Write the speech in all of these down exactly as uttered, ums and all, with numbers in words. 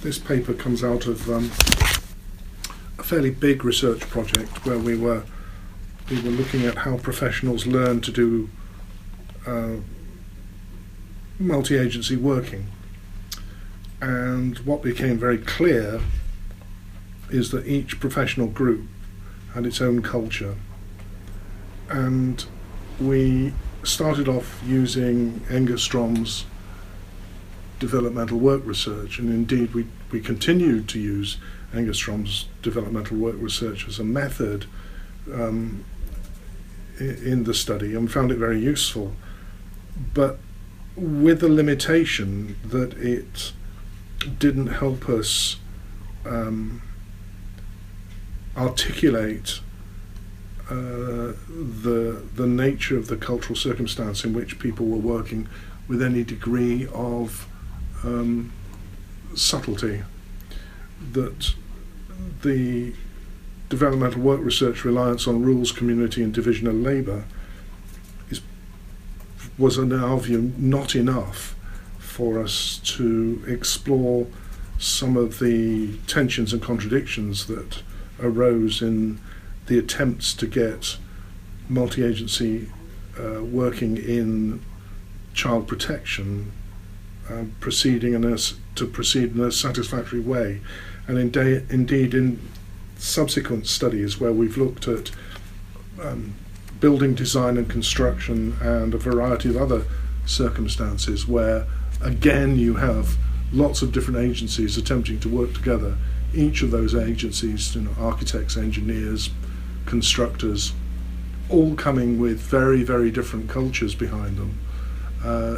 this paper comes out of um, a fairly big research project where we were we were looking at how professionals learn to do uh, multi-agency working. And what became very clear is that each professional group had its own culture. And we started off using Engerstrom's developmental work research, and indeed we, we continued to use Engerstrom's developmental work research as a method um, in the study, and found it very useful, but with the limitation that it didn't help us um, articulate uh, the the nature of the cultural circumstance in which people were working with any degree of um, subtlety. That the developmental work research reliance on rules, community and division of labour is was in our view not enough for us to explore some of the tensions and contradictions that arose in the attempts to get multi-agency uh, working in child protection uh, proceeding in a, to proceed in a satisfactory way. And in day, indeed in subsequent studies where we've looked at um, building design and construction and a variety of other circumstances where again you have lots of different agencies attempting to work together, each of those agencies, you know, architects, engineers, constructors, all coming with very, very different cultures behind them. Uh,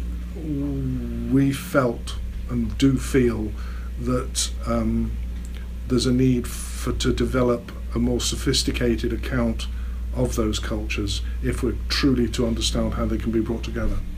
we felt and do feel that um, there's a need for to develop a more sophisticated account of those cultures if we're truly to understand how they can be brought together.